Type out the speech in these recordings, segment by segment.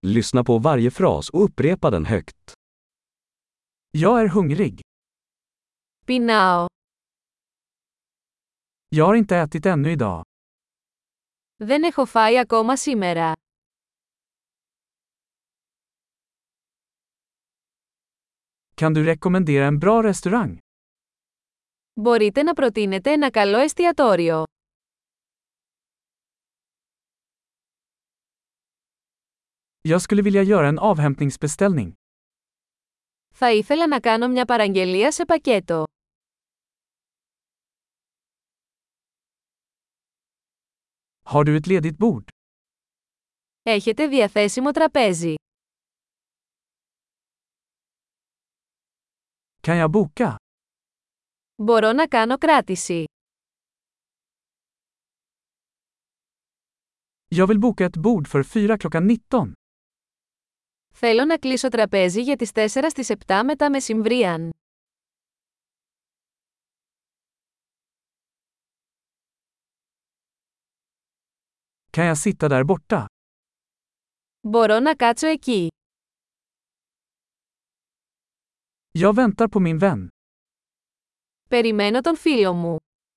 Lyssna på varje fras och upprepa den högt. Jag är hungrig. Πεινάω. Jag har inte ätit ännu idag. Δεν έχω φάει ακόμα σήμερα. Kan du rekommendera en bra restaurang? Μπορείτε να προτείνετε ένα καλό εστιατόριο. Jag skulle vilja göra en avhämtningsbeställning. Θα ήθελα να κάνω μια παραγγελία σε πακέτο. Har du ett ledigt bord? Έχετε διαθέσιμο τραπέζι. Kan jag boka? Μπορώ να κάνω κράτηση. Jag vill boka ett bord för 4 klockan 19. Θέλω να κλείσω τραπέζι για τις 4 στις 7 μετά μεσημβρίαν. Kan jag sitta där borta? Μπορώ να κάτσω εκεί. Jag väntar på min vän. Περιμένω τον φίλο μου.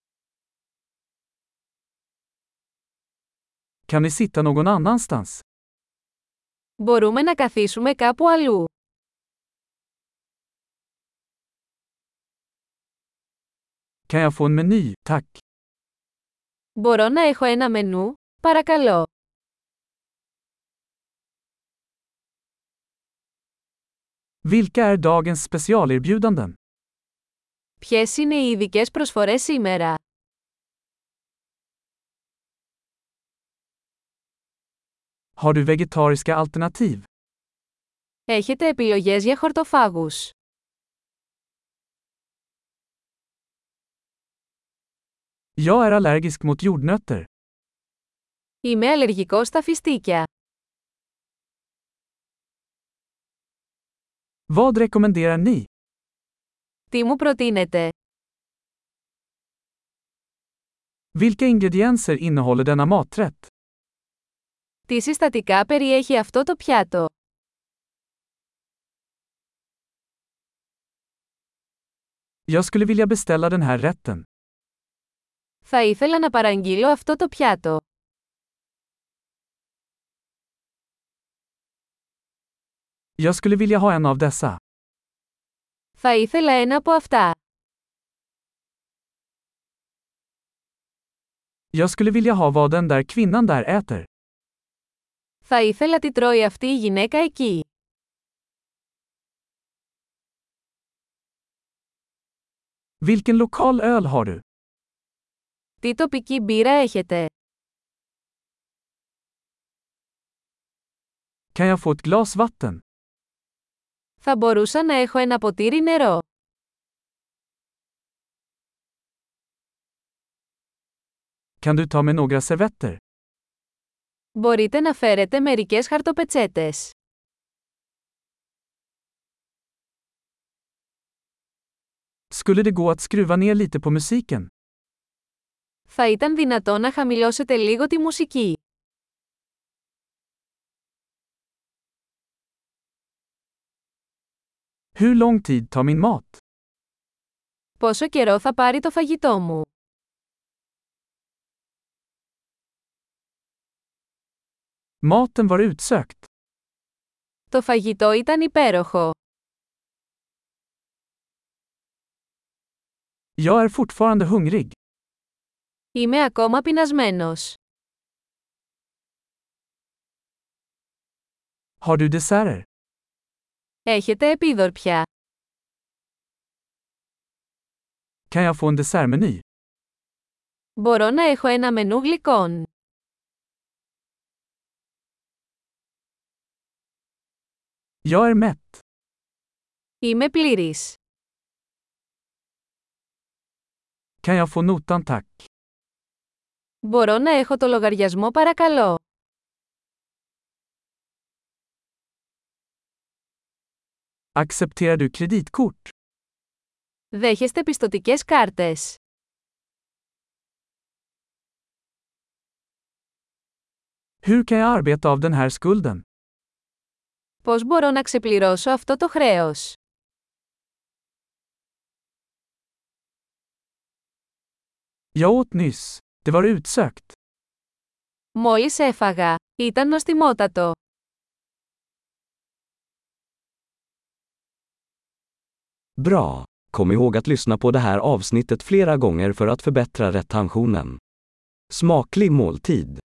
Kan vi sitta någon annanstans? Μπορούμε να καθίσουμε κάπου αλλού. Kan jag få en meny, tack? Μπορώ να έχω ένα μενού, παρακαλώ. Vilka är dagens specialerbjudanden? Ποιες είναι οι ειδικές προσφορές σήμερα? Har du vegetariska alternativ? Έχετε επιλογές για χορτοφάγους? Jag är allergisk mot jordnötter. Είμαι αλλεργικός στα φιστίκια. Vad rekommenderar ni? Τι μου προτείνετε? Vilka ingredienser innehåller denna maträtt? Τι συστατικά περιέχει αυτό το πιάτο? Jag skulle vilja beställa den här rätten. Θα ήθελα να παραγγείλω αυτό το πιάτο. Jag skulle vilja ha en av dessa. Θα ήθελα ένα από αυτά. Jag skulle vilja ha vad den där kvinnan där äter. Θα ήθελα τι τρώει αυτή η γυναίκα εκεί. Vilken lokal öl har du? Τι τοπική μπύρα έχετε? Kan jag få ett glas vatten? Θα μπορούσα να έχω ένα ποτήρι νερό. Kan du ta med några servetter? Μπορείτε να φέρετε μερικές χαρτοπετσέτες. Skulle det gå att skruva ner lite på musiken? Θα ήταν δυνατό να χαμηλώσετε λίγο τη μουσική. Hur lång tid tar min mat? Πόσο καιρό θα πάρει το φαγητό μου? Maten var utsökt. Το φαγητό ήταν υπέροχο. Jag är fortfarande hungrig. Είμαι ακόμα πεινασμένος. Har du desserter? Έχετε επίδορπια? Kan jag få en dessertmeny? Μπορώ να έχω ένα μενού γλυκών. Jag är mätt. Είμαι πλήρης. Kan jag få notan tack? Μπορώ να έχω το λογαριασμό παρακαλώ? Accepterar du kreditkort? Δέχεστε πιστωτικές κάρτες? Hur kan jag arbeta av den här skulden? Πώς μπορώ να ξεπληρώσω αυτό το χρέος? Jag åt nyss. Det var utsökt. Μόλις έφαγα. Ήταν νοστιμότατο. Bra! Kom ihåg att lyssna på det här avsnittet flera gånger för att förbättra retentionen. Smaklig måltid!